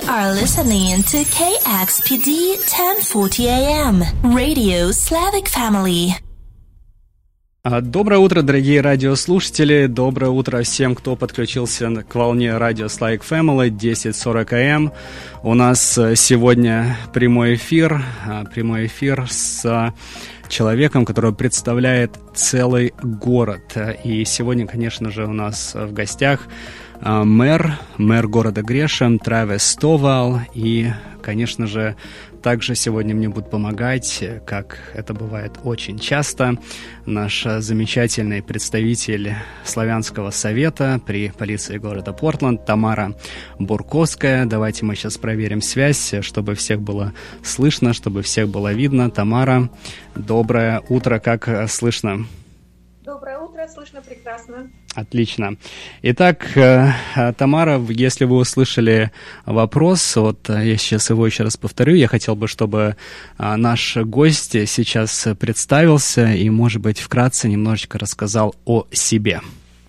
are listening to KXPD 1040 AM, Radio Slavic Family. Доброе утро, дорогие радиослушатели. Доброе утро всем, кто подключился к волне радио Slavic Family 1040 AM. У нас сегодня прямой эфир с человеком, который представляет целый город. И сегодня, конечно же, у нас в гостях мэр города Грешем Травис Стовал. И, конечно же, также сегодня мне будет помогать, как это бывает очень часто, наш замечательный представитель Славянского совета при полиции города Портленд Тамара Бурковская. Давайте мы сейчас проверим связь, чтобы всех было слышно, чтобы всех было видно. Тамара, доброе утро, как слышно? Доброе утро, слышно прекрасно. Отлично. Итак, Тамара, если вы услышали вопрос, вот я сейчас его еще раз повторю, я хотел бы, чтобы наш гость сейчас представился и, может быть, вкратце немножечко рассказал о себе.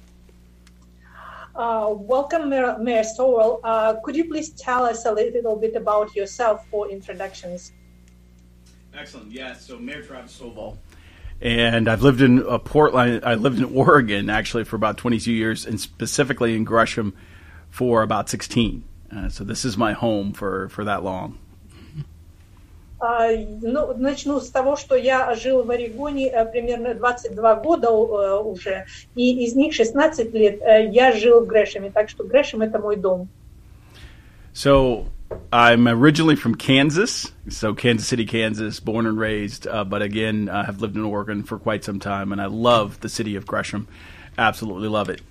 Welcome, Mayor Stovall. Could you please tell us a little bit about yourself for introductions? Excellent. Yeah. So, Mayor Travis Stovall. And I've lived in Portland. I lived in Oregon, actually, for about 22 years, and specifically in Gresham for about 16. So this is my home for that long. Начну с того, что я жил в Орегоне примерно 22 года уже, и из них 16 лет я жил в Грэшеме, так что Грэшем — это мой дом. So I'm originally from Kansas, so Kansas City, Kansas, born and raised, but again, I have lived in Oregon for quite some time, and I love the city of Gresham. Absolutely love it.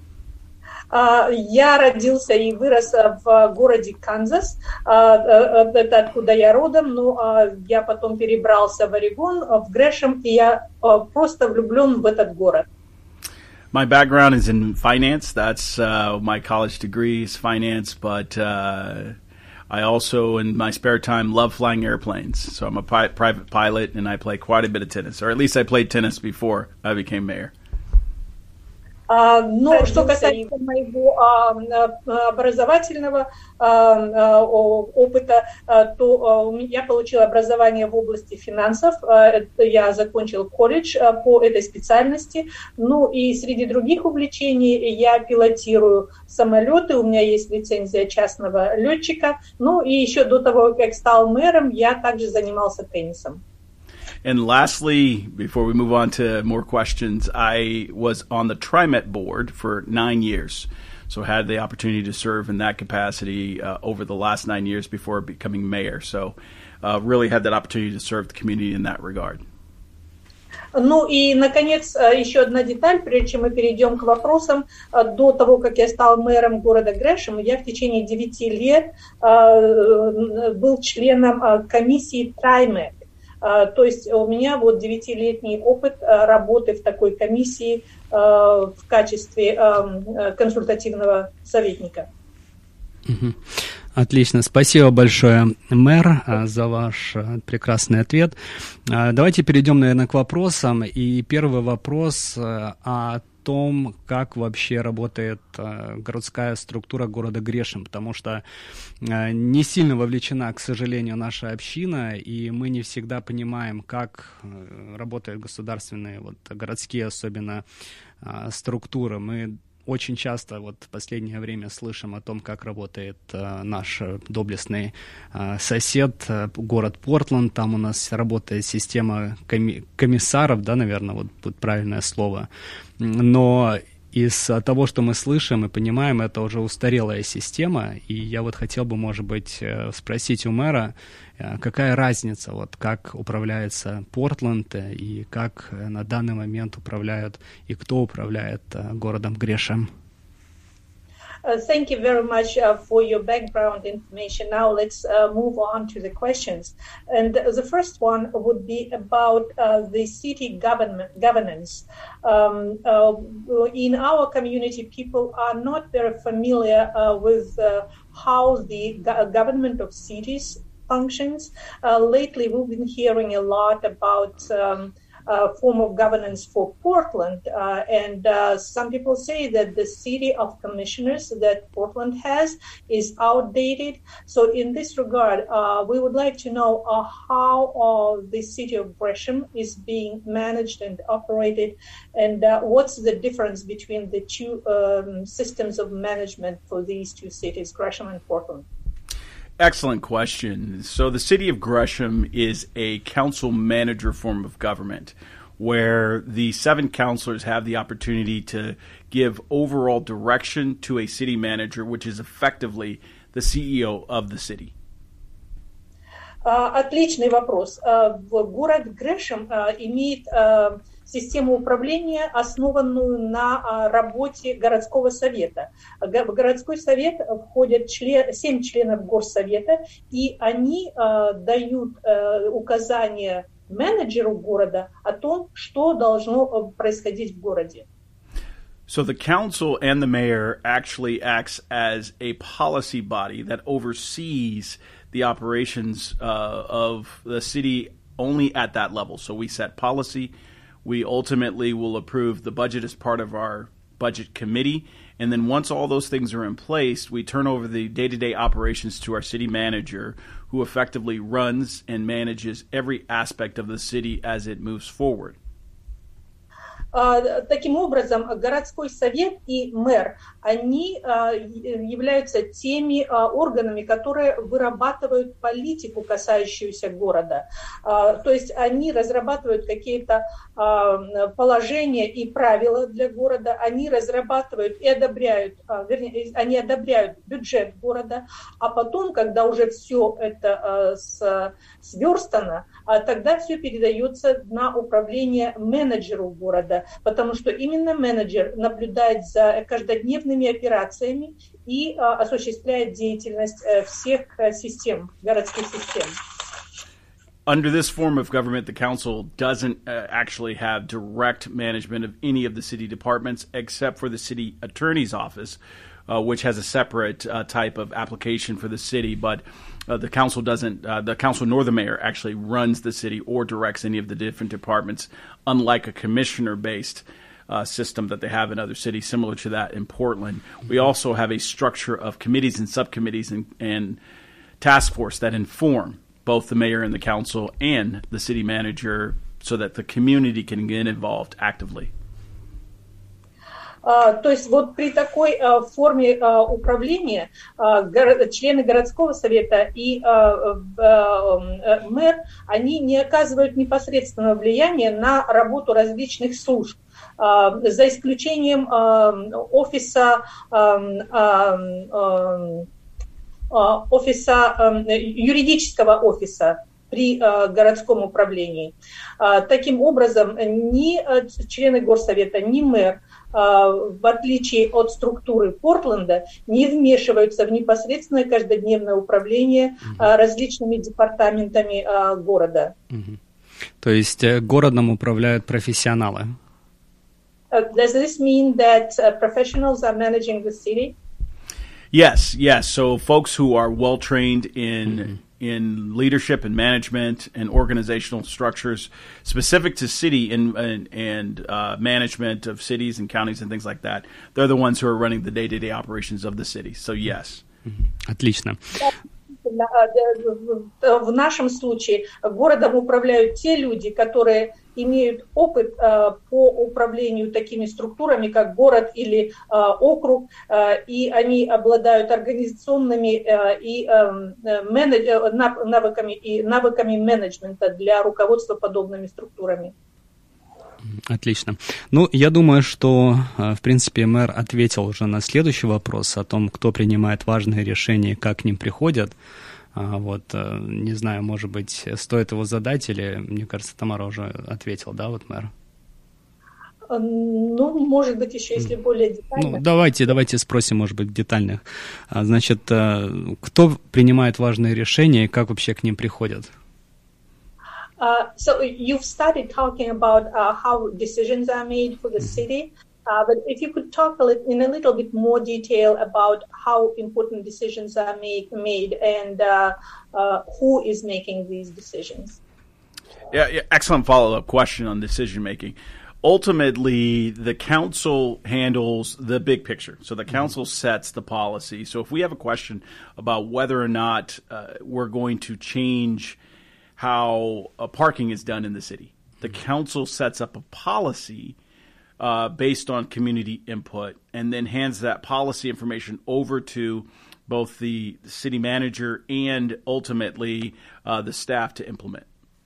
Я родился и вырос в городе Канзас, это откуда я родом, но я потом перебрался в Орегон, в Грэшем, и я просто влюблен в этот город. My background is in finance. That's my college degree is finance, but I also, in my spare time, love flying airplanes. So I'm a private pilot, and I play quite a bit of tennis, or at least I played tennis before I became mayor. Но что касается моего образовательного опыта, то я получила образование в области финансов. Я закончила колледж по этой специальности. Ну и среди других увлечений я пилотирую самолеты. У меня есть лицензия частного летчика. Ну и еще до того, как стал мэром, я также занимался теннисом. And lastly, before we move on to more questions, I was on the TriMet board for 9 years. So I had the opportunity to serve in that capacity over the last 9 years before becoming mayor. So really had that opportunity to serve the community in that regard. Ну и, наконец, еще одна деталь, прежде чем мы перейдем к вопросам. До того, как я стал мэром города Грэшем, я в течение 9 лет был членом комиссии TriMet. То есть у меня вот 9-летний опыт работы в такой комиссии в качестве консультативного советника. Отлично. Спасибо большое, мэр, за ваш прекрасный ответ. Давайте перейдем, наверное, к вопросам. И первый вопрос о том, как вообще работает городская структура города Грешем, потому что не сильно вовлечена, к сожалению, наша община, и мы не всегда понимаем, как работают государственные, городские особенно структуры. Мы очень часто в последнее время слышим о том, как работает наш доблестный сосед, город Портленд. Там у нас работает система комиссаров, да, наверное, будет правильное слово. Но из того, что мы слышим и понимаем, это уже устарелая система. И я хотел бы, может быть, спросить у мэра, какая разница, как управляется Портленд и как на данный момент управляют и кто управляет городом Грешем. Thank you very much for your background information. Now let's move on to the questions. And the first one would be about the city governance. In our community, people are not very familiar with how the government of cities functions. Lately, we've been hearing a lot about form of governance for Portland. And some people say that the city of commissioners that Portland has is outdated. So in this regard, we would like to know how the city of Gresham is being managed and operated, and what's the difference between the two systems of management for these two cities, Gresham and Portland? Excellent question. So the city of Gresham is a council manager form of government where the 7 councilors have the opportunity to give overall direction to a city manager, which is effectively the CEO of the city. Отличный вопрос. Город Грэшем имеет систему управления, основанную на работе городского совета. В городской совет входят 7 членов горсовета, и они дают указания менеджеру города о том, что должно происходить в городе. So the council and the mayor actually acts as a policy body that oversees the operations of the city only at that level. So we set policy. We ultimately will approve the budget as part of our budget committee. And then once all those things are in place, we turn over the day-to-day operations to our city manager, who effectively runs and manages every aspect of the city as it moves forward. Таким образом, городской совет и мэр, они являются теми органами, которые вырабатывают политику, касающуюся города. То есть они разрабатывают какие-то положения и правила для города, они разрабатывают и одобряют, вернее, они одобряют бюджет города, а потом, когда уже все это сверстано, тогда все передается на управление менеджеру города, потому что именно менеджер наблюдает за каждодневными операциями и осуществляет деятельность всех систем, городских систем. Under this form of government, the council doesn't actually have direct management of any of the city departments except for the city attorney's office, which has a separate type of application for the city. But the council doesn't, the council nor the mayor actually runs the city or directs any of the different departments, unlike a commissioner-based system that they have in other cities, similar to that in Portland. We also have a structure of committees and subcommittees and task force that inform both the mayor and the council and the city manager so that the community can get involved actively. То есть вот при такой форме управления члены городского совета и мэр, они не оказывают непосредственного влияния на работу различных служб, за исключением юридического офиса при городском управлении. Таким образом, ни члены горсовета, ни мэр, в отличие от структуры Портленда, не вмешиваются в непосредственное каждодневное управление различными департаментами города. То есть городом управляют профессионалы? Does this mean that professionals are managing the city? Yes. So folks who are well trained in leadership and management and organizational structures specific to city and management of cities and counties and things like that. They're the ones who are running the day-to-day operations of the city. So yes. Отлично. В нашем случае городом управляют те люди, которые имеют опыт по управлению такими структурами, как город или округ, и они обладают организационными и навыками менеджмента для руководства подобными структурами. Отлично. Ну, я думаю, что, в принципе, мэр ответил уже на следующий вопрос о том, кто принимает важные решения и как к ним приходят. Вот, не знаю, может быть, стоит его задать, или, мне кажется, Тамара уже ответила, да, вот мэр? Ну, может быть, еще если более детально. Ну, давайте спросим, может быть, детальных. Значит, кто принимает важные решения и как вообще к ним приходят? So you've started talking about how decisions are made for the city, but if you could talk in a little bit more detail about how important decisions are made and who is making these decisions. Yeah, excellent follow-up question on decision-making. Ultimately, the council handles the big picture. So the council sets the policy. So if we have a question about whether or not we're going to change how parking is done in the city, the council sets up a policy based on community input and then hands that policy information over to both the city manager and ultimately the staff to implement.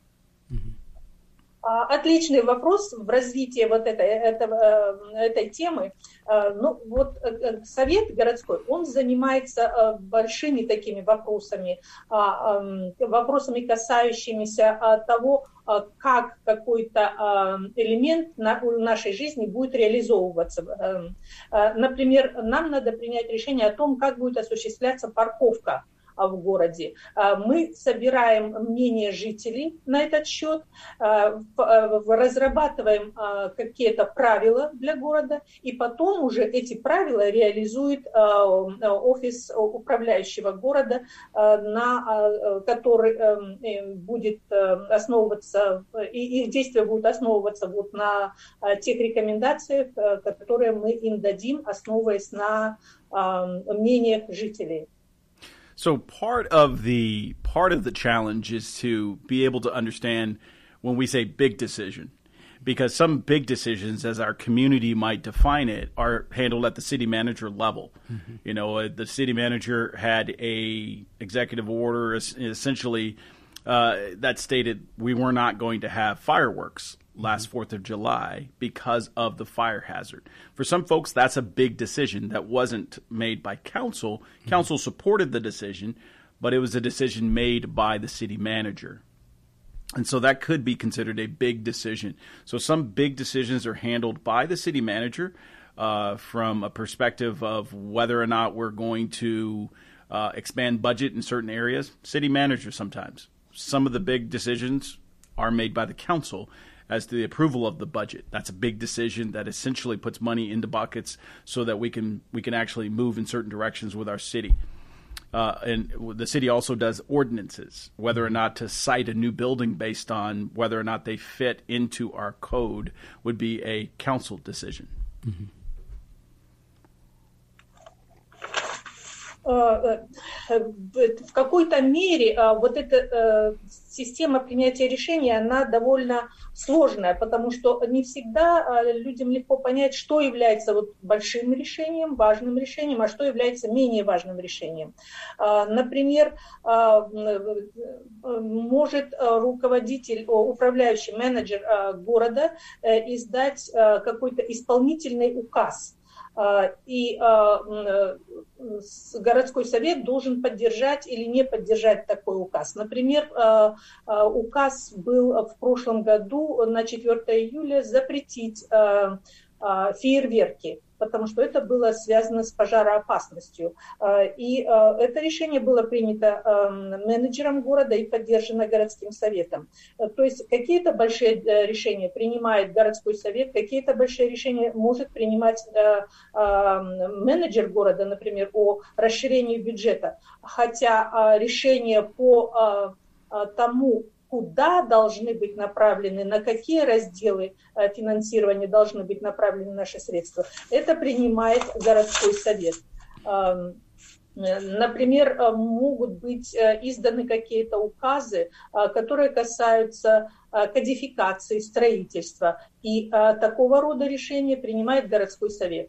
Отличный вопрос в развитии вот этой темы. Ну, вот совет городской, он занимается большими такими вопросами, касающимися того, как какой-то элемент нашей жизни будет реализовываться. Например, нам надо принять решение о том, как будет осуществляться парковка в городе. Мы собираем мнение жителей на этот счет, разрабатываем какие-то правила для города, и потом уже эти правила реализует офис управляющего города, который будет основываться, и их действия будут основываться вот на тех рекомендациях, которые мы им дадим, основываясь на мнениях жителей. So part of the challenge is to be able to understand when we say big decision, because some big decisions, as our community might define it, are handled at the city manager level. Mm-hmm. You know, the city manager had a executive order essentially that stated we were not going to have fireworks last 4th of July because of the fire hazard. For some folks, that's a big decision that wasn't made by council. Council supported the decision, but it was a decision made by the city manager. And so that could be considered a big decision. So some big decisions are handled by the city manager from a perspective of whether or not we're going to expand budget in certain areas. City manager sometimes. Some of the big decisions are made by the council as to the approval of the budget. That's a big decision that essentially puts money into buckets so that we can actually move in certain directions with our city. And the city also does ordinances, whether or not to cite a new building based on whether or not they fit into our code would be a council decision. Mm-hmm. В какой-то мере вот эта система принятия решений, она довольно сложная, потому что не всегда людям легко понять, что является вот большим решением, важным решением, а что является менее важным решением. Например, может руководитель, управляющий менеджер города издать какой-то исполнительный указ, и городской совет должен поддержать или не поддержать такой указ. Например, указ был в прошлом году на 4 июля запретить фейерверки, потому что это было связано с пожароопасностью. И это решение было принято менеджером города и поддержано городским советом. То есть какие-то большие решения принимает городской совет, какие-то большие решения может принимать менеджер города, например, о расширении бюджета. Хотя решение по тому, куда должны быть направлены, на какие разделы финансирования должны быть направлены наши средства, это принимает городской совет. Например, могут быть изданы какие-то указы, которые касаются кодификации строительства, и такого рода решения принимает городской совет.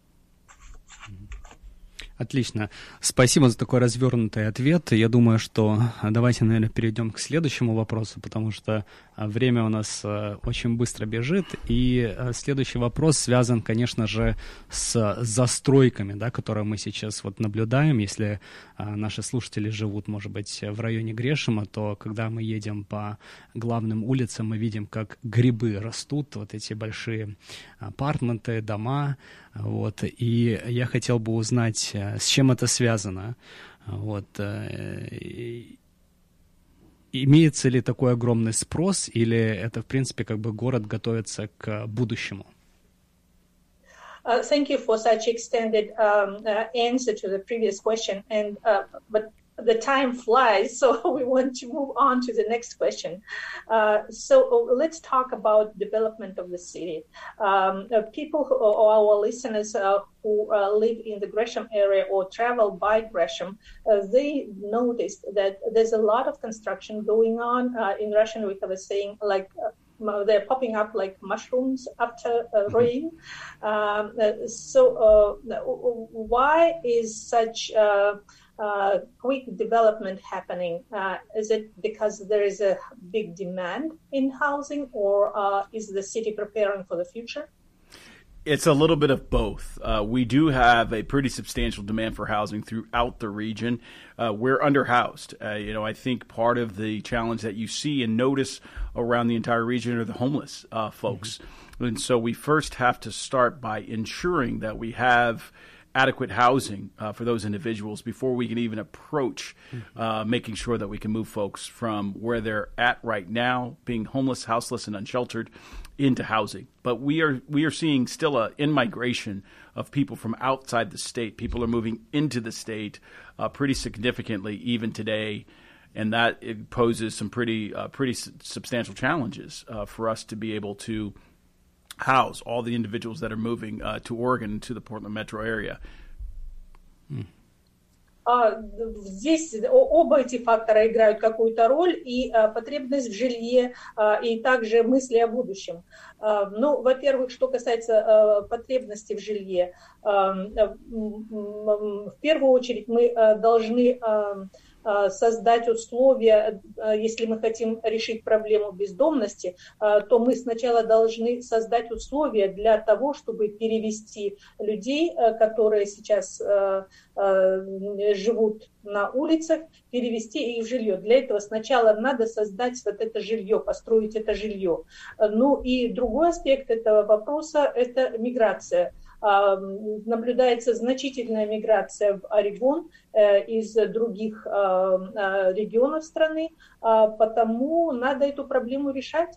Отлично. Спасибо за такой развернутый ответ. Я думаю, что давайте, наверное, перейдем к следующему вопросу, потому что время у нас очень быстро бежит. И следующий вопрос связан, конечно же, с застройками, да, которые мы сейчас вот наблюдаем. Если наши слушатели живут, может быть, в районе Грешема, то когда мы едем по главным улицам, мы видим, как грибы растут, вот эти большие апартменты, дома. Вот. И я хотел бы узнать, с чем это связано. Вот. Имеется ли такой огромный спрос, или это, в принципе, как бы город готовится к будущему? Thank you for such extended answer to the previous question. But the time flies, so we want to move on to the next question. So let's talk about development of the city. People or our listeners who live in the Gresham area or travel by Gresham, they noticed that there's a lot of construction going on. In Russian, we have a saying like they're popping up like mushrooms after rain. So why is such quick development happening? Is it because there is a big demand in housing, or is the city preparing for the future? It's a little bit of both. We do have a pretty substantial demand for housing throughout the region. We're underhoused. I think part of the challenge that you see and notice around the entire region are the homeless folks. Mm-hmm. And so we first have to start by ensuring that we have adequate housing for those individuals before we can even approach making sure that we can move folks from where they're at right now, being homeless, houseless, and unsheltered, into housing. But we are seeing still a in-migration of people from outside the state. People are moving into the state pretty significantly even today, and that it poses some pretty substantial challenges for us to be able to house all the individuals that are moving to Oregon, to the Portland metro area. Здесь оба эти фактора играют какую-то роль, и потребность в жилье, и также мысли о будущем. Ну, во-первых, что касается потребности в жилье, в первую очередь мы должны создать условия, если мы хотим решить проблему бездомности, то мы сначала должны создать условия для того, чтобы перевести людей, которые сейчас живут на улицах, перевести их в жилье. Для этого сначала надо создать вот это жилье, построить это жилье. Ну и другой аспект этого вопроса – это миграция. Наблюдается значительная миграция в Орегон из других регионов страны, потому надо эту проблему решать.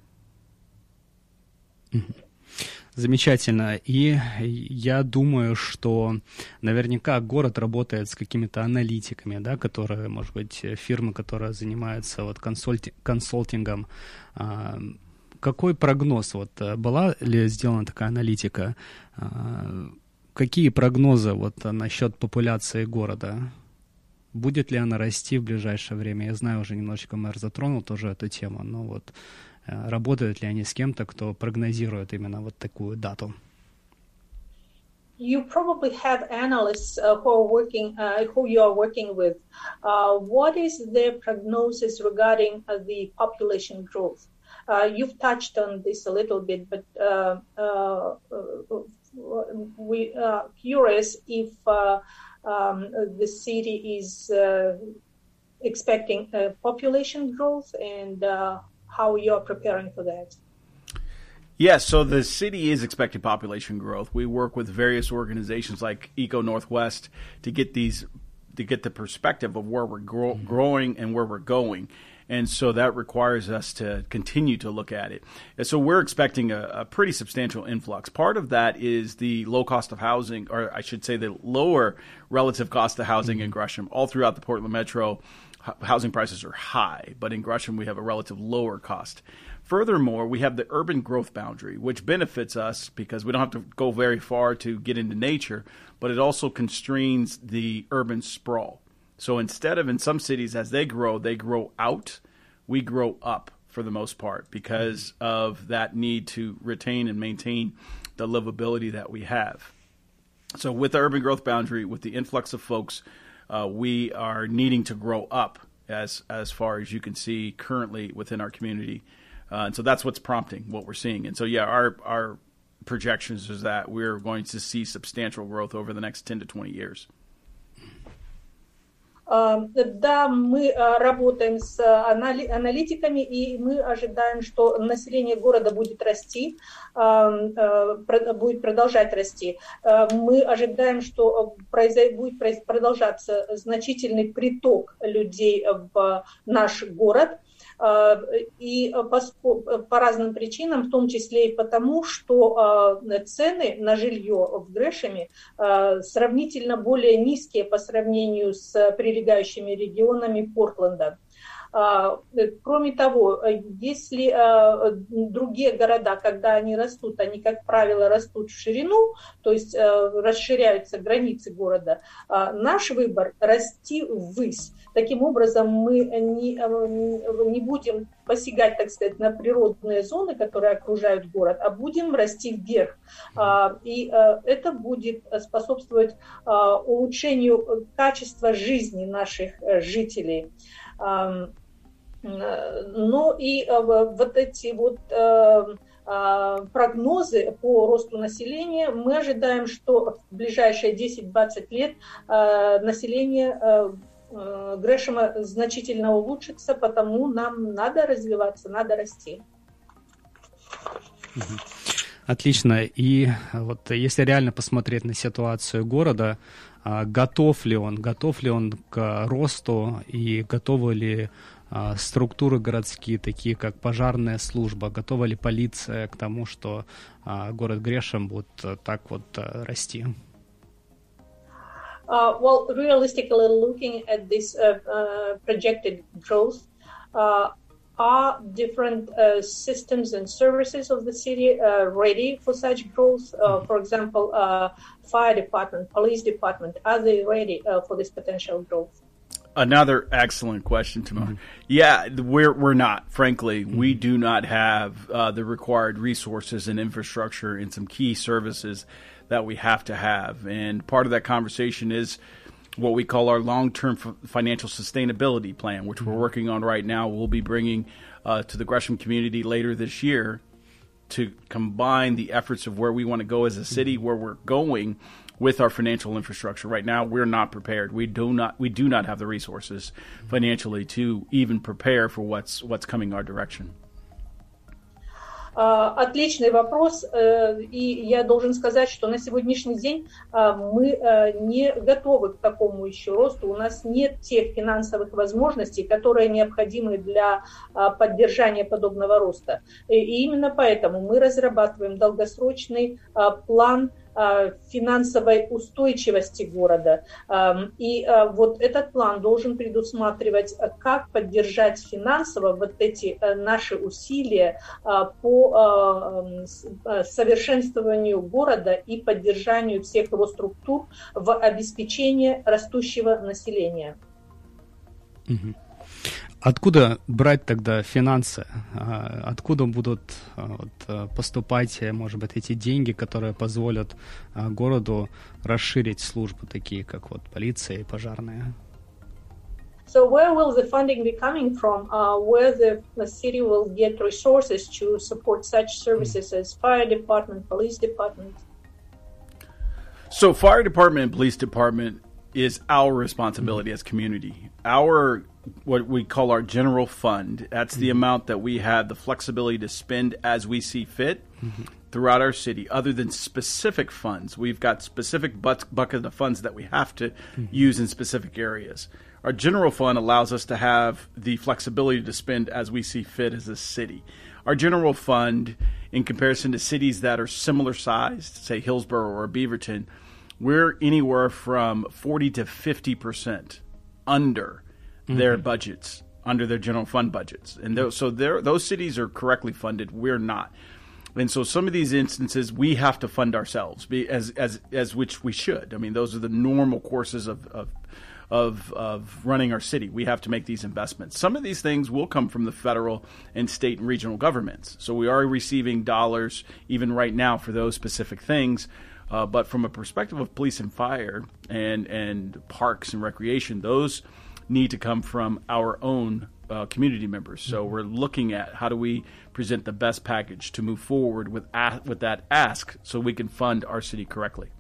Замечательно. И я думаю, что наверняка город работает с какими-то аналитиками, да, которые, может быть, фирмы, которые занимаются вот консалтингом. Какой прогноз? Вот была ли сделана такая аналитика? Какие прогнозы вот насчет популяции города? Будет ли она расти в ближайшее время? Я знаю, уже немножечко мэр затронул тоже эту тему, но вот работают ли они с кем-то, кто прогнозирует именно вот такую дату? You probably have analysts who you are working with. What is their prognosis regarding the population growth? You've touched on this a little bit, but we are curious if the city is expecting population growth and how you're preparing for that. Yes, so the city is expecting population growth. We work with various organizations like Eco Northwest to get the perspective of where we're growing and where we're going. And so that requires us to continue to look at it. And so we're expecting a pretty substantial influx. Part of that is the low cost of housing, or I should say the lower relative cost of housing in Gresham. All throughout the Portland metro, housing prices are high, but in Gresham we have a relative lower cost. Furthermore, we have the urban growth boundary, which benefits us because we don't have to go very far to get into nature, but it also constrains the urban sprawl. So instead of in some cities, as they grow out, we grow up for the most part because of that need to retain and maintain the livability that we have. So with the urban growth boundary, with the influx of folks, we are needing to grow up as far as you can see currently within our community. And so that's what's prompting what we're seeing. And so, yeah, our projections is that we're going to see substantial growth over the next 10 to 20 years. Да, мы работаем с аналитиками, и мы ожидаем, что население города будет расти, будет продолжать расти. Мы ожидаем, что будет продолжаться значительный приток людей в наш город. И по разным причинам, в том числе и потому, что цены на жилье в Грэшеме сравнительно более низкие по сравнению с прилегающими регионами Портленда. Кроме того, если другие города, когда они растут, они, как правило, растут в ширину, то есть расширяются границы города, наш выбор – расти ввысь. Таким образом, мы не будем посягать, так сказать, на природные зоны, которые окружают город, а будем расти вверх. И это будет способствовать улучшению качества жизни наших жителей. Ну и вот эти вот прогнозы по росту населения, мы ожидаем, что в ближайшие 10-20 лет население Грэшема значительно улучшится, потому нам надо развиваться, надо расти. Отлично. И вот если реально посмотреть на ситуацию города, готов ли он к росту и готовы ли структуры городские, такие как пожарная служба, готова ли полиция к тому, что город Грэшем будет так вот расти? Well, realistically looking at this projected growth, are different systems and services of the city ready for such growth? For example, fire department, police department, are they ready for this potential growth? Another excellent question, Tamar. Yeah, we're not. Frankly, we do not have the required resources and infrastructure and some key services that we have to have. And part of that conversation is what we call our long-term financial sustainability plan, which we're working on right now. We'll be bringing to the Gresham community later this year to combine the efforts of where we want to go as a city, where we're going with our financial infrastructure. Right now, we're not prepared. We do not have the resources financially to even prepare for what's coming our direction. Отличный вопрос, и я должен сказать, что на сегодняшний день мы не готовы к такому еще росту. У нас нет тех финансовых возможностей, которые необходимы для поддержания подобного роста. И именно поэтому мы разрабатываем долгосрочный план финансовой устойчивости города. И вот этот план должен предусматривать, как поддержать финансово вот эти наши усилия по совершенствованию города и поддержанию всех его структур в обеспечении растущего населения. Откуда брать тогда финансы? Откуда будут поступать, может быть, эти деньги, которые позволят городу расширить службы, такие как вот полиция и пожарная? So where will the funding be coming from? Where the city will get resources to support such services as fire department, police department? So fire department and police department is our responsibility as community. Our what we call our general fund, that's the amount that we have the flexibility to spend as we see fit throughout our city. Other than specific funds, we've got specific bucket of funds that we have to use in specific areas. Our general fund allows us to have the flexibility to spend as we see fit as a city. Our general fund, in comparison to cities that are similar sized, say Hillsborough or Beaverton, we're anywhere from 40 to 50% under their budgets, under their general fund budgets. And those cities are correctly funded. We're not. And so some of these instances we have to fund ourselves, as which we should. I mean, those are the normal courses of running our city. We have to make these investments. Some of these things will come from the federal and state and regional governments. So we are receiving dollars even right now for those specific things. But from a perspective of police and fire and parks and recreation, those need to come from our own community members. So we're looking at how do we present the best package to move forward with that ask so we can fund our city correctly.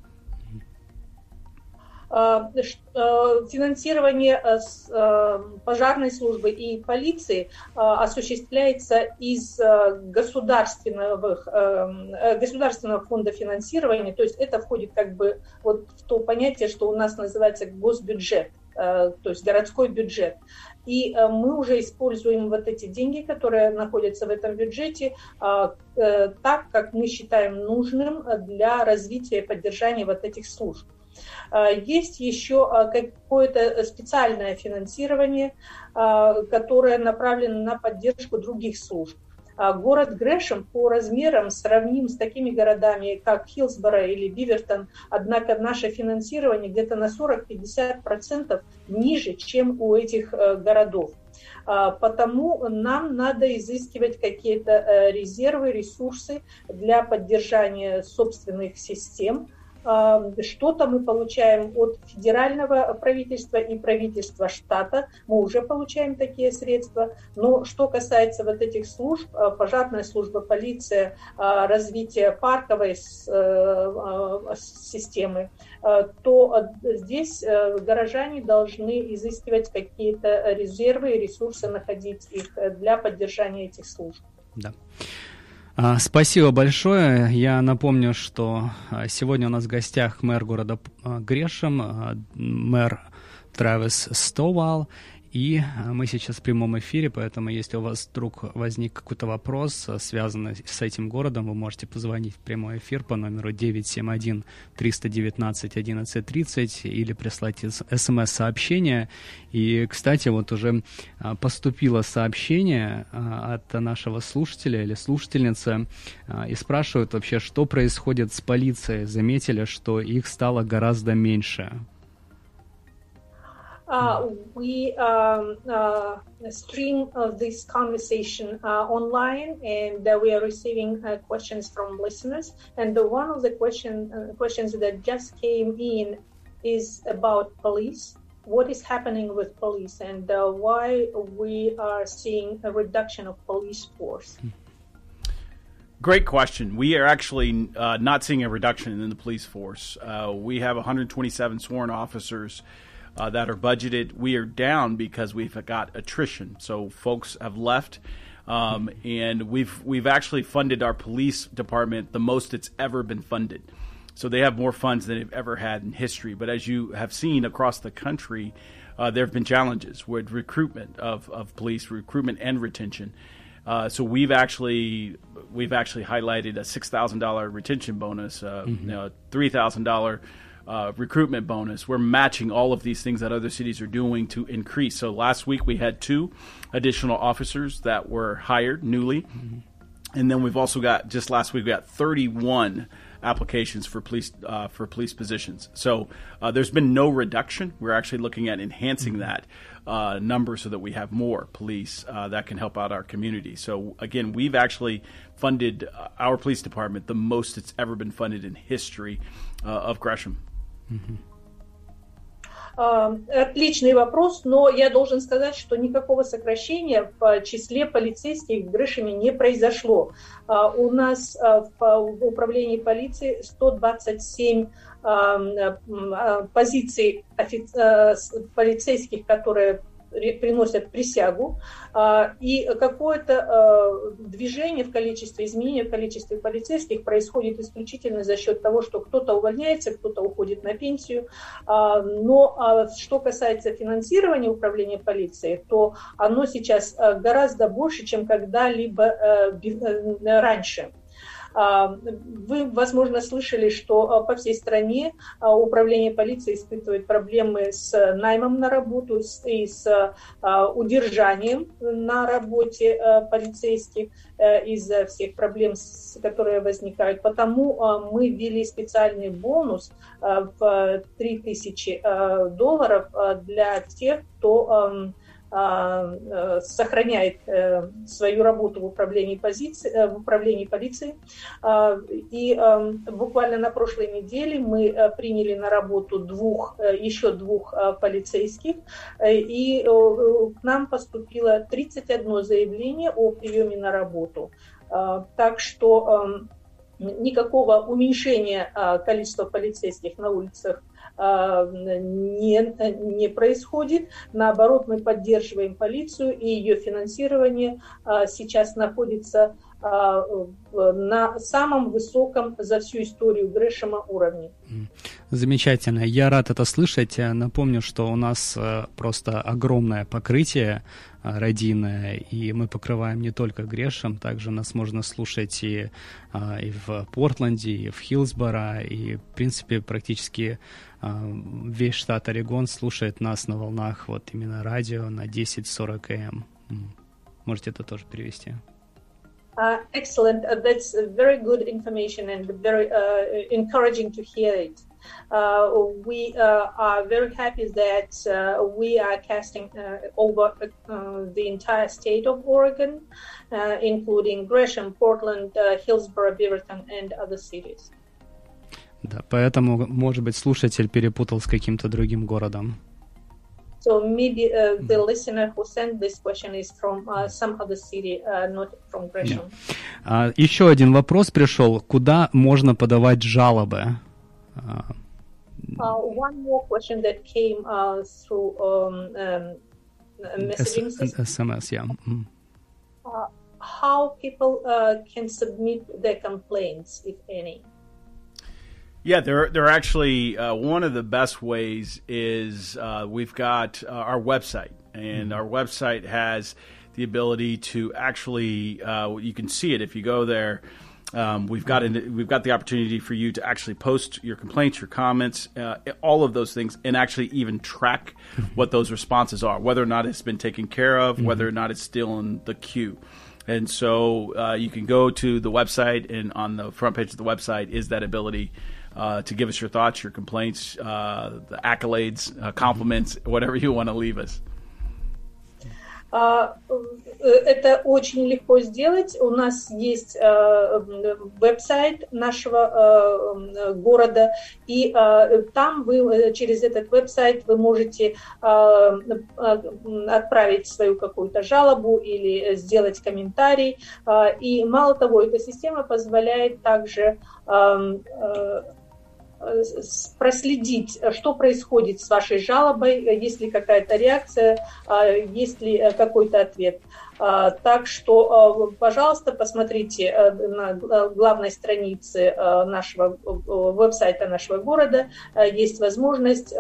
Финансирование пожарной службы и полиции осуществляется из государственного фонда финансирования, то есть это входит как бы вот в то понятие, что у нас называется госбюджет. то есть городской бюджет. И мы уже используем вот эти деньги, которые находятся в этом бюджете, так, как мы считаем нужным для развития и поддержания вот этих служб. Есть еще какое-то специальное финансирование, которое направлено на поддержку других служб. Город Грэшем по размерам сравним с такими городами, как Хиллсборо или Бивертон, однако наше финансирование где-то на 40-50% ниже, чем у этих городов. Потому нам надо изыскивать какие-то резервы, ресурсы для поддержания собственных систем. Что-то мы получаем от федерального правительства и правительства штата, мы уже получаем такие средства, но что касается вот этих служб, пожарная служба, полиция, развитие парковой системы, то здесь горожане должны изыскивать какие-то резервы и ресурсы, находить их для поддержания этих служб. Да. Спасибо большое. Я напомню, что сегодня у нас в гостях мэр города Грэшем, мэр Трэвис Стовал. И мы сейчас в прямом эфире, поэтому если у вас вдруг возник какой-то вопрос, связанный с этим городом, вы можете позвонить в прямой эфир по номеру 971-319-1130 или прислать смс-сообщение. И, кстати, вот уже поступило сообщение от нашего слушателя или слушательницы, и спрашивают вообще, что происходит с полицией. Заметили, что их стало гораздо меньше. We stream this conversation online, and we are receiving questions from listeners. And one of the questions that just came in is about police. What is happening with police, and why we are seeing a reduction of police force? Great question. We are actually not seeing a reduction in the police force. We have 127 sworn officers that are budgeted. We are down because we've got attrition. So folks have left, and we've actually funded our police department the most it's ever been funded. So they have more funds than they've ever had in history. But as you have seen across the country, there have been challenges with recruitment of police, recruitment and retention. So we've actually highlighted a $6,000 retention bonus, $3,000 recruitment bonus. We're matching all of these things that other cities are doing to increase. So last week we had 2 additional officers that were hired newly. Mm-hmm. And then we've also got, just last week, we got 31 applications for police positions. So there's been no reduction. We're actually looking at enhancing that number so that we have more police that can help out our community. So again, we've actually funded our police department the most it's ever been funded in history of Gresham. Mm-hmm. Отличный вопрос, но я должен сказать, что никакого сокращения в числе полицейских в Грэшеме не произошло. У нас в управлении полиции 127 позиций полицейских, которые приносят присягу, и какое-то движение в количестве, изменение в количестве полицейских происходит исключительно за счет того, что кто-то увольняется, кто-то уходит на пенсию. Но что касается финансирования управления полицией, то оно сейчас гораздо больше, чем когда-либо раньше. Вы, возможно, слышали, что по всей стране управление полиции испытывает проблемы с наймом на работу и с удержанием на работе полицейских из-за всех проблем, которые возникают. Потому мы ввели специальный бонус в $3000 для тех, кто сохраняет свою работу в управлении полиции. И буквально на прошлой неделе мы приняли на работу еще двух полицейских, и к нам поступило 31 заявление о приеме на работу. Так что никакого уменьшения количества полицейских на улицах не происходит. Наоборот, мы поддерживаем полицию, и ее финансирование сейчас находится на самом высоком за всю историю Грэшема уровне. Замечательно. Я рад это слышать. Напомню, что у нас просто огромное покрытие радийное, и мы покрываем не только Грэшем, также нас можно слушать и в Портленде, и в Хиллсборо, и, в принципе, практически весь штат Орегон слушает нас на волнах вот именно радио на 1040 АМ. Можете это тоже перевести. Excellent. That's very good information and very encouraging to hear it. We are very happy that we are casting over the entire state of Oregon, including Gresham, Portland, Hillsborough, Beaverton, and other cities. Да, поэтому, может быть, слушатель перепутал с каким-то другим городом. So maybe the listener who sent this question is from some other city, not from Gresham. Yeah. Еще один вопрос пришел. Куда можно подавать жалобы? One more question that came through messaging system. SMS, yeah. How people can submit their complaints, if any? Yeah, they're actually one of the best ways is we've got our website, and our website has the ability to actually you can see it if you go there. We've got the opportunity for you to actually post your complaints, your comments, all of those things, and actually even track what those responses are, whether or not it's been taken care of, whether or not it's still in the queue. And so you can go to the website, and on the front page of the website is that ability to give us your thoughts, your complaints, the accolades, compliments, whatever you want to leave us. Это очень легко сделать. У нас есть веб-сайт нашего города, и там вы через этот веб-сайт вы можете отправить свою какую-то жалобу или сделать комментарий. И мало того, эта система позволяет также проследить, что происходит с вашей жалобой, есть ли какая-то реакция, есть ли какой-то ответ. Так что, пожалуйста, посмотрите на главной странице нашего веб-сайта нашего города. Есть возможность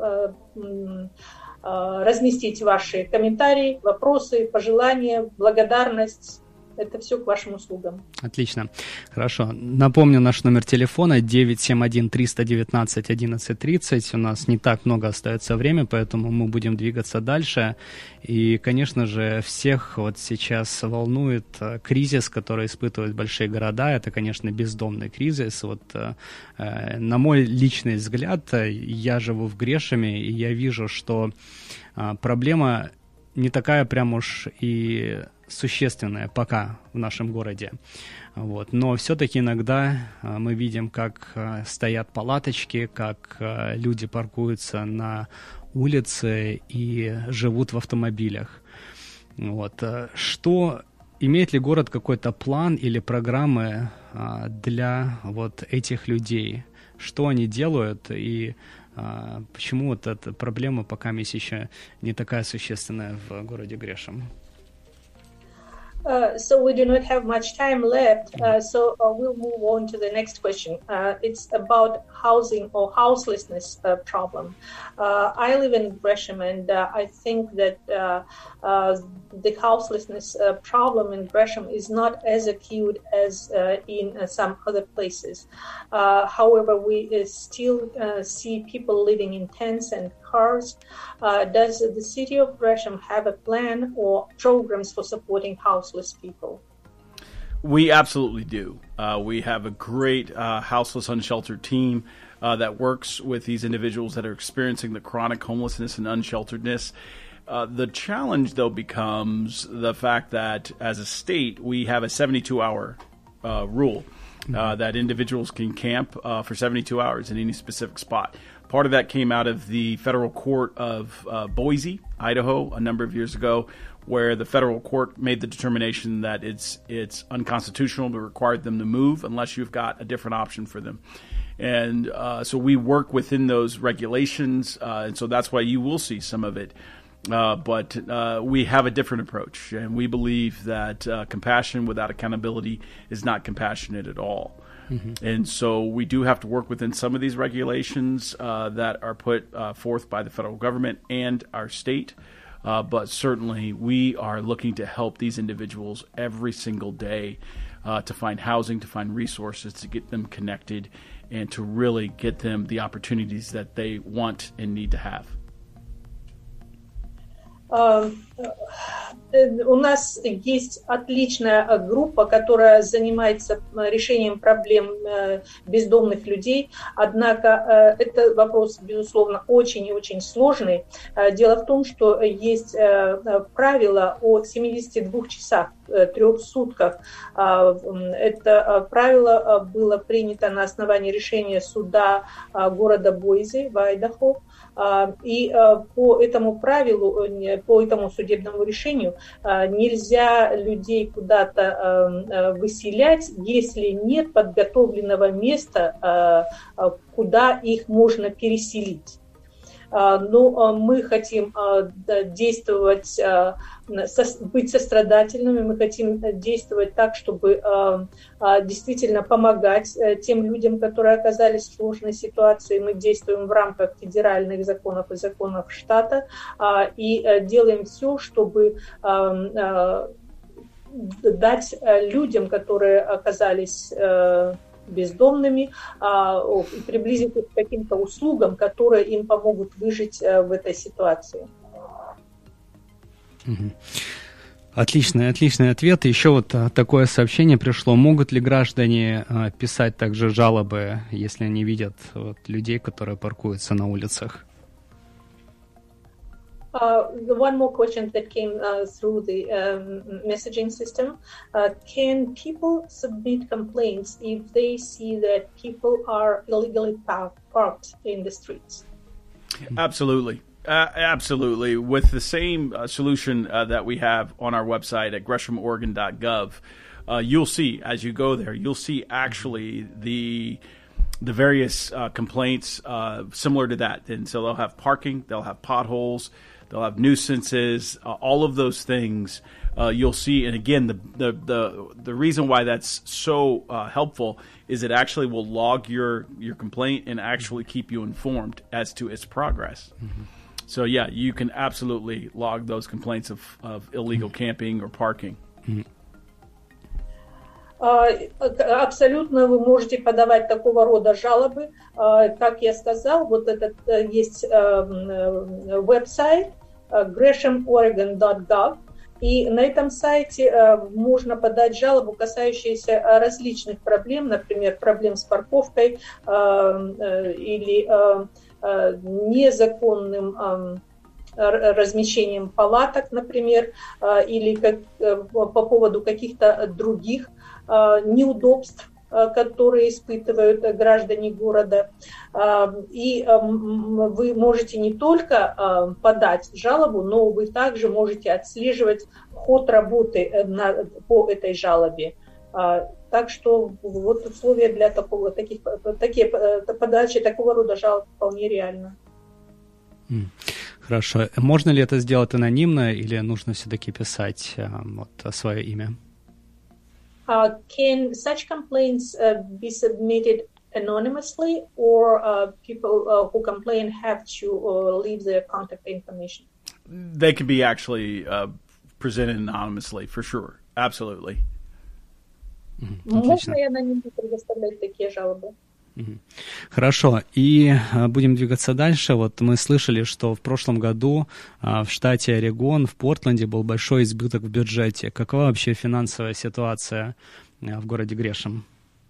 разместить ваши комментарии, вопросы, пожелания, благодарность. Это все к вашим услугам. Отлично. Хорошо. Напомню наш номер телефона 971-319-1130. У нас не так много остается времени, поэтому мы будем двигаться дальше. И, конечно же, всех вот сейчас волнует кризис, который испытывают большие города. Это, конечно, бездомный кризис. Вот, на мой личный взгляд, я живу в Грэшеме, и я вижу, что проблема не такая прям уж и существенная пока в нашем городе. Вот. Но все-таки иногда мы видим, как стоят палаточки, как люди паркуются на улице и живут в автомобилях. Вот. Что, имеет ли город какой-то план или программы для вот этих людей? Что они делают и почему вот эта проблема пока еще не такая существенная в городе Грэшем? So we do not have much time left, so we'll move on to the next question. It's about housing or houselessness problem. I live in Gresham, and I think that the houselessness problem in Gresham is not as acute as in some other places. However, we still see people living in tents and cars. Does the city of Gresham have a plan or programs for supporting houseless people? We absolutely do. We have a great houseless, unsheltered team that works with these individuals that are experiencing the chronic homelessness and unshelteredness. The challenge, though, becomes the fact that as a state, we have a 72-hour rule that individuals can camp for 72 hours in any specific spot. Part of that came out of the federal court of Boise, Idaho, a number of years ago, where the federal court made the determination that it's unconstitutional to require them to move unless you've got a different option for them. And so we work within those regulations, and so that's why you will see some of it But we have a different approach, and we believe that compassion without accountability is not compassionate at all. Mm-hmm. And so we do have to work within some of these regulations that are put forth by the federal government and our state. But certainly we are looking to help these individuals every single day to find housing, to find resources, to get them connected, and to really get them the opportunities that they want and need to have. У нас есть отличная группа, которая занимается решением проблем бездомных людей, однако это вопрос, безусловно, очень и очень сложный. Дело в том, что есть правило о 72 часах, 3 сутках. Это правило было принято на основании решения суда города Бойзе в Айдахо. И по этому правилу, по этому судебному решению нельзя людей куда-то выселять, если нет подготовленного места, куда их можно переселить. Но мы хотим действовать, быть сострадательными, мы хотим действовать так, чтобы действительно помогать тем людям, которые оказались в сложной ситуации. Мы действуем в рамках федеральных законов и законов штата и делаем все, чтобы дать людям, которые оказались бездомными, и приблизить их к каким-то услугам, которые им помогут выжить в этой ситуации. Отличный ответ. Еще вот такое сообщение пришло. Могут ли граждане писать также жалобы, если они видят людей, которые паркуются на улицах? One more question that came through the messaging system. Can people submit complaints if they see that people are illegally parked in the streets? Absolutely. Absolutely. With the same solution that we have on our website at GreshamOregon.gov, you'll see, as you go there, you'll see actually the various complaints similar to that. And so they'll have parking, they'll have potholes, they'll have nuisances, all of those things you'll see. And again, the reason why that's so helpful is it actually will log your complaint and actually keep you informed as to its progress. Mm-hmm. So yeah, you can absolutely log those complaints of illegal camping or parking. Mm-hmm. Абсолютно вы можете подавать такого рода жалобы. Как я сказал, вот этот есть веб-сайт GreshamOregon.gov, и на этом сайте можно подать жалобу, касающуюся различных проблем, например, проблем с парковкой или незаконным размещением палаток, например, или по поводу каких-то других неудобств, которые испытывают граждане города. И вы можете не только подать жалобу, но вы также можете отслеживать ход работы по этой жалобе. Так что вот условия для подачи такого рода жалоб вполне реально. Хорошо. Можно ли это сделать анонимно или нужно все-таки писать свое имя? Can such complaints be submitted anonymously, or people who complain have to leave their contact information? They can be actually presented anonymously, for sure. Absolutely. Можно и анонимно предоставлять такие жалобы. Хорошо, и будем двигаться дальше. Вот мы слышали, что в прошлом году в штате Орегон, в Портленде был большой избыток в бюджете. Какова вообще финансовая ситуация в городе Грешем?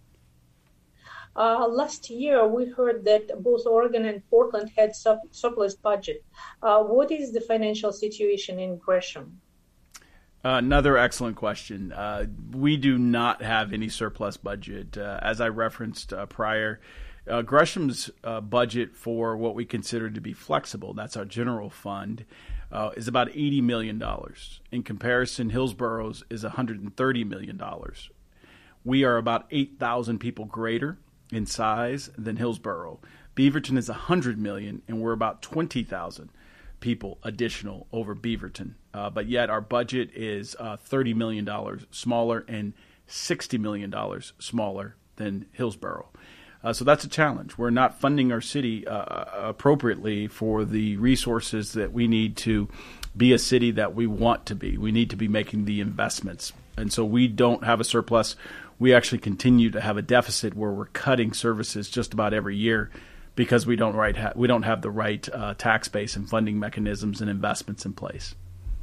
Last year we heard that both Oregon and Portland had surplus budget. What is the financial situation in Gresham? Another excellent question. We do not have any surplus budget. As I referenced prior, Gresham's budget for what we consider to be flexible, that's our general fund, is about $80 million. In comparison, Hillsboro's is $130 million. We are about 8,000 people greater in size than Hillsboro. Beaverton is $100 million, and we're about 20,000 people additional over Beaverton. But yet our budget is $30 million smaller and $60 million smaller than Hillsborough. So that's a challenge. We're not funding our city appropriately for the resources that we need to be a city that we want to be. We need to be making the investments. And so we don't have a surplus. We actually continue to have a deficit where we're cutting services just about every year because we don't have the right tax base and funding mechanisms and investments in place.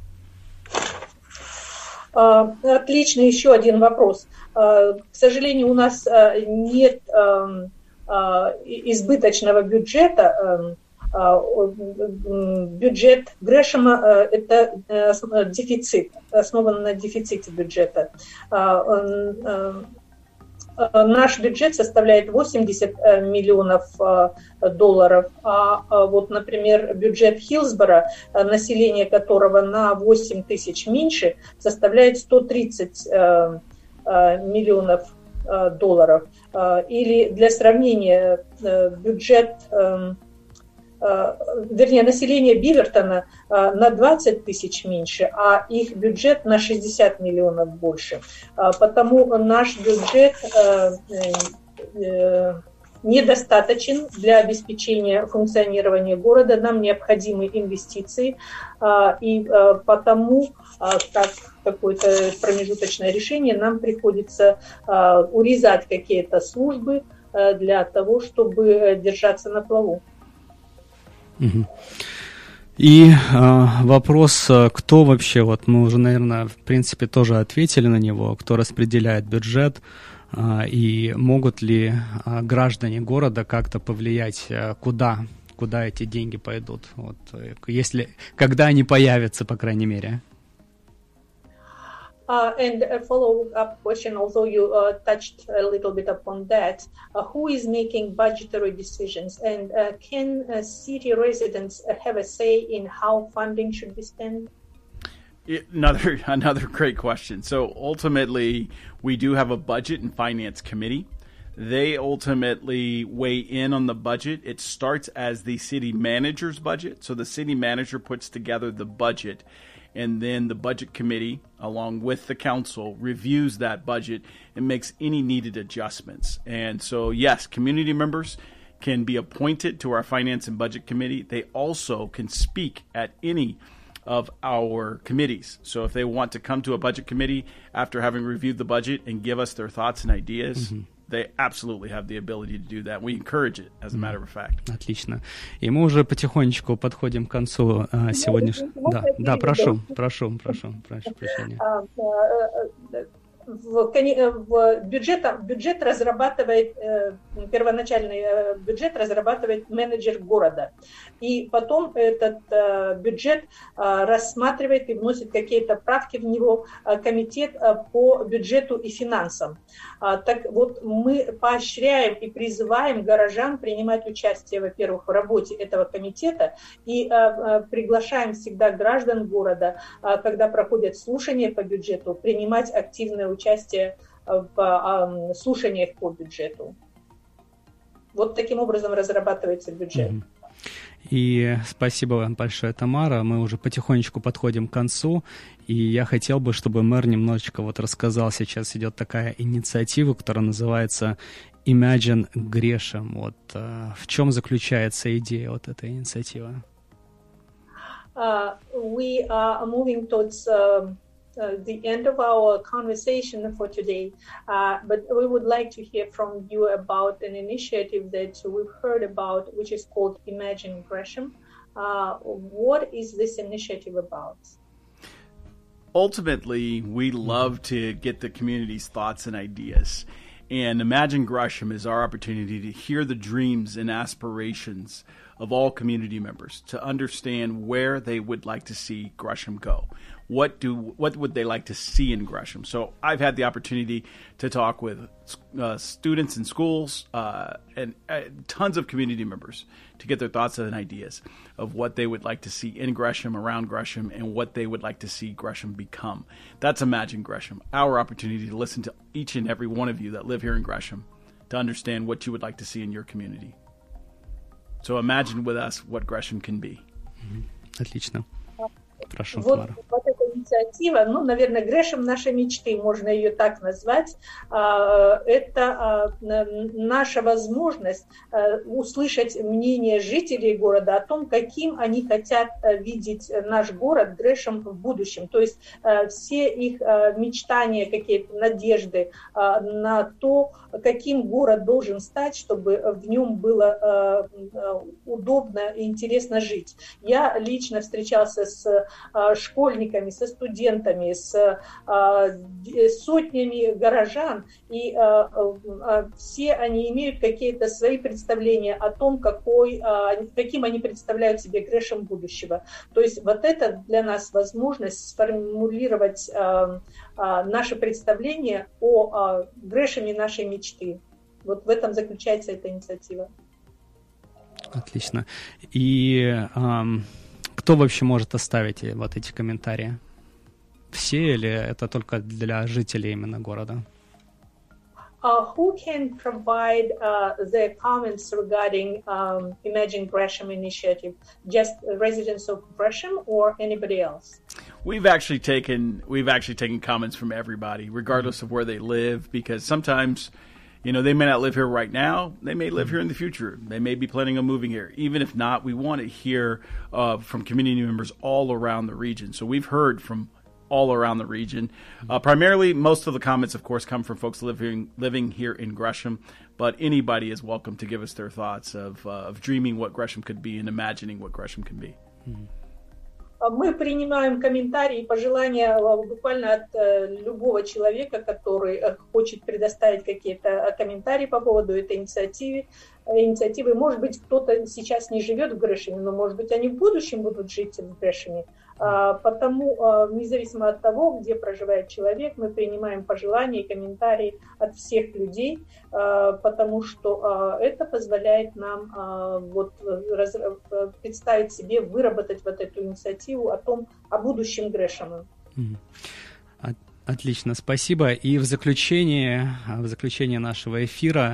Отлично, еще один вопрос. К сожалению, у нас нет избыточного бюджета. Бюджет Грэшема – это дефицит, основан на дефиците бюджета. Наш бюджет составляет $80 миллионов, а вот, например, бюджет Хиллсборо, население которого на 8 тысяч меньше, составляет $130 миллионов. Или для сравнения, население Бивертона на 20 тысяч меньше, а их бюджет на 60 миллионов больше. Потому наш бюджет недостаточен для обеспечения функционирования города. Нам необходимы инвестиции, и потому, как какое-то промежуточное решение, нам приходится урезать какие-то службы для того, чтобы держаться на плаву. И вопрос, кто вообще, вот мы уже, наверное, в принципе тоже ответили на него, кто распределяет бюджет, и могут ли граждане города как-то повлиять, куда эти деньги пойдут, вот, когда они появятся, по крайней мере. And a follow-up question, although you touched a little bit upon that, who is making budgetary decisions, and can city residents have a say in how funding should be spent? Another great question. So ultimately, we do have a budget and finance committee. They ultimately weigh in on the budget. It starts as the city manager's budget. So the city manager puts together the budget, and then the budget committee, along with the council, reviews that budget and makes any needed adjustments. And so, yes, community members can be appointed to our finance and budget committee. They also can speak at any of our committees. So if they want to come to a budget committee after having reviewed the budget and give us their thoughts and ideas, they absolutely have the ability to do that. We encourage it, as a matter of fact. Отлично. И мы уже потихонечку подходим к концу сегодняшнего... Да, прошу прощения. Бюджет разрабатывает, первоначальный бюджет разрабатывает менеджер города. И потом этот бюджет рассматривает и вносит какие-то правки в него комитет по бюджету и финансам. Так вот, мы поощряем и призываем горожан принимать участие, во-первых, в работе этого комитета, и приглашаем всегда граждан города, когда проходят слушания по бюджету, принимать активное участие в слушаниях по бюджету. Вот таким образом разрабатывается бюджет. И спасибо вам большое, Тамара. Мы уже потихонечку подходим к концу, и я хотел бы, чтобы мэр немножечко вот рассказал. Сейчас идет такая инициатива, которая называется Imagine Gresham. Вот в чем заключается идея вот этой инициативы? We are moving towards the end of our conversation for today, but we would like to hear from you about an initiative that we've heard about, which is called Imagine Gresham. What is this initiative about? Ultimately, we love to get the community's thoughts and ideas. And Imagine Gresham is our opportunity to hear the dreams and aspirations of all community members, to understand where they would like to see Gresham go. What would they like to see in Gresham? So I've had the opportunity to talk with students in schools and tons of community members to get their thoughts and ideas of what they would like to see in Gresham, around Gresham, and what they would like to see Gresham become. That's Imagine Gresham, our opportunity to listen to each and every one of you that live here in Gresham to understand what you would like to see in your community. So imagine with us what Gresham can be. Отлично. Прошу, вот, Тамара. вот эта инициатива, ну, наверное, Грэшем нашей мечты, можно ее так назвать, это наша возможность услышать мнение жителей города о том, каким они хотят видеть наш город Грэшем в будущем. То есть все их мечтания, какие-то надежды на то, каким город должен стать, чтобы в нем было удобно и интересно жить. Я лично встречался с школьниками, со студентами, с сотнями горожан, и все они имеют какие-то свои представления о том, каким они представляют себе Грэшем будущего. То есть вот это для нас возможность сформулировать наше представление о Грэшеме нашей мечты. Вот в этом заключается эта инициатива. Отлично. И кто вообще может оставить вот эти комментарии? Все или это только для жителей именно города? Who can provide their comments regarding Imagine Gresham initiative? Just residents of Gresham or anybody else? We've actually taken comments from everybody, regardless of where they live, because sometimes, you know, they may not live here right now. They may live here in the future. They may be planning on moving here. Even if not, we want to hear from community members all around the region. So we've heard from all around the region. Primarily, most of the comments, of course, come from folks living here in Gresham, but anybody is welcome to give us their thoughts of dreaming what Gresham could be and imagining what Gresham can be. Мы принимаем комментарии и пожелания буквально от любого человека, который хочет предоставить какие-то комментарии по поводу этой инициативы. Может быть, кто-то сейчас не живет в Грэшеме, но, может быть, они в будущем будут жить в Грэшеме. Потому, независимо от того, где проживает человек, мы принимаем пожелания и комментарии от всех людей, потому что это позволяет нам представить себе, выработать вот эту инициативу о будущем Грэшема. Отлично, спасибо. И в заключение нашего эфира,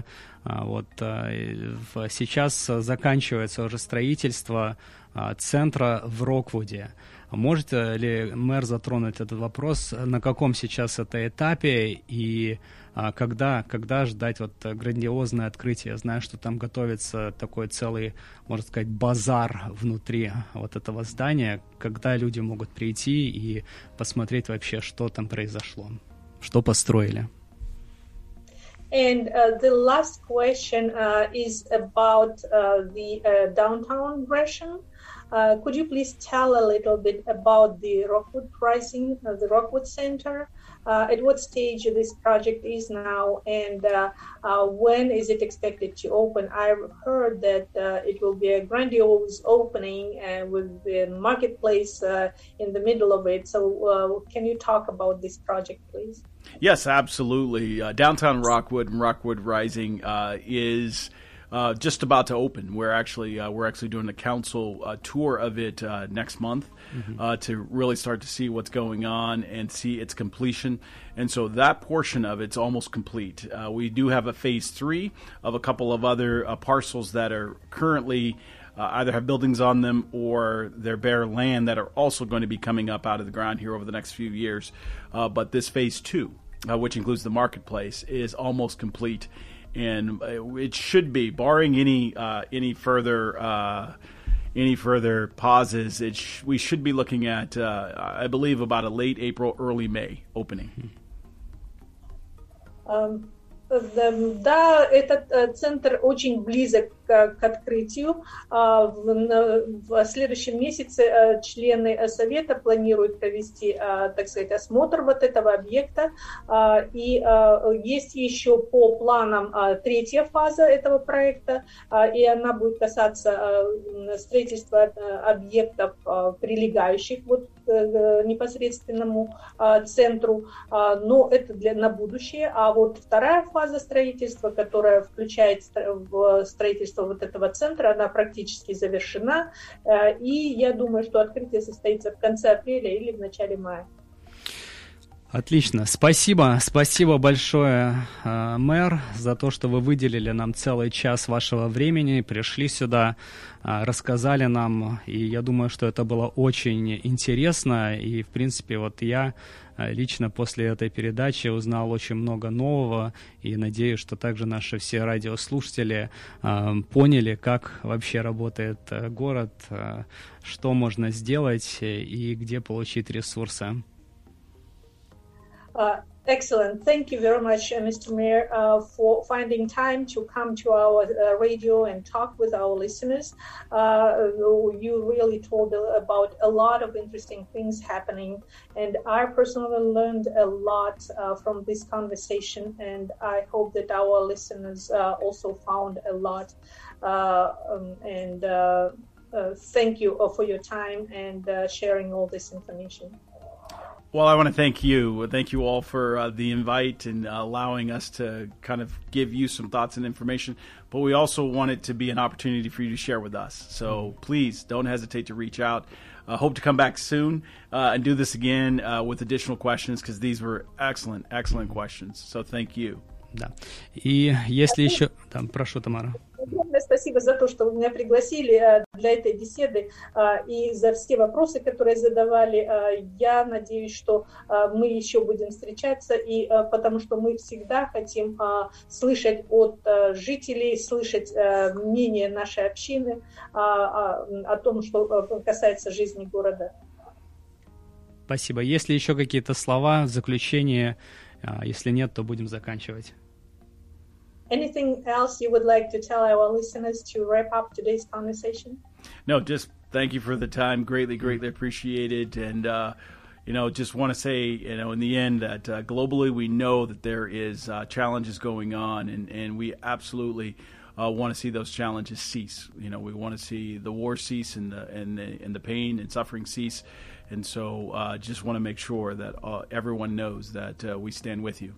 сейчас заканчивается уже строительство центра в Роквуде. Может ли мэр затронуть этот вопрос, на каком сейчас это этапе и когда ждать грандиозное открытие? Я знаю, что там готовится такой целый, можно сказать, базар внутри вот этого здания, когда люди могут прийти и посмотреть вообще, что там произошло, что построили. And the last question is about the downtown Gresham. Could you please tell a little bit about the Rockwood Rising, the Rockwood Center? At what stage this project is now, and when is it expected to open? I've heard that it will be a grandiose opening with the marketplace in the middle of it. So can you talk about this project, please? Yes, absolutely. Downtown Rockwood and Rockwood Rising is just about to open. We're actually doing a council tour of it next month to really start to see what's going on and see its completion. And so that portion of it's almost complete. We do have a phase 3 of a couple of other parcels that are currently either have buildings on them or they're bare land that are also going to be coming up out of the ground here over the next few years. But this phase 2, which includes the marketplace, is almost complete. And it should be, barring any further pauses, we should be looking at, I believe, about a late April, early May opening. Да, этот центр очень близок к открытию. В следующем месяце члены Совета планируют провести, так сказать, осмотр вот этого объекта. И есть еще по планам третья фаза этого проекта, и она будет касаться строительства объектов, прилегающих к непосредственному центру, но это на будущее. А вот вторая фаза строительства, которая включает в строительство вот этого центра, она практически завершена, и я думаю, что открытие состоится в конце апреля или в начале мая. Отлично. Спасибо большое, мэр, за то, что вы выделили нам целый час вашего времени, пришли сюда, рассказали нам, и я думаю, что это было очень интересно, и, в принципе, вот я лично после этой передачи узнал очень много нового, и надеюсь, что также наши все радиослушатели поняли, как вообще работает город, что можно сделать и где получить ресурсы. Excellent. Thank you very much, Mr. Mayor, for finding time to come to our radio and talk with our listeners. You really told about a lot of interesting things happening, and I personally learned a lot from this conversation, and I hope that our listeners also found a lot. Thank you for your time and sharing all this information. Well, I want to thank you. Thank you all for the invite and allowing us to kind of give you some thoughts and information. But we also want it to be an opportunity for you to share with us. So please don't hesitate to reach out. Hope to come back soon and do this again with additional questions, because these were excellent questions. So thank you. Да. И если еще... Там, прошу, Тамара. Огромное спасибо за то, что вы меня пригласили для этой беседы и за все вопросы, которые задавали. Я надеюсь, что мы еще будем встречаться, и потому что мы всегда хотим слышать от жителей, слышать мнение нашей общины о том, что касается жизни города. Спасибо. Есть ли еще какие-то слова в заключение? Если нет, то будем заканчивать. Anything else you would like to tell our listeners to wrap up today's conversation? No, just thank you for the time. Greatly appreciated. And, just want to say, in the end that globally we know that there is challenges going on, and we absolutely want to see those challenges cease. We want to see the war cease and the pain and suffering cease. And so just want to make sure that everyone knows that we stand with you.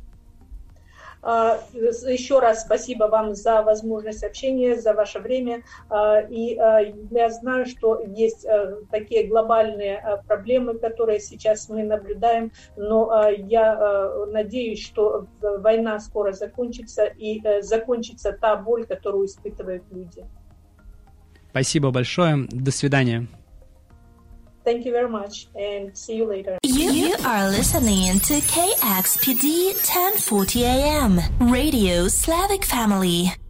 Еще раз спасибо вам за возможность общения, за ваше время. И я знаю, что есть такие глобальные проблемы, которые сейчас мы наблюдаем, но я надеюсь, что война скоро закончится, и закончится та боль, которую испытывают люди. Спасибо большое. До свидания. Thank you very much, and see you later. You are listening to KXPD 1040 AM, Radio Slavic Family.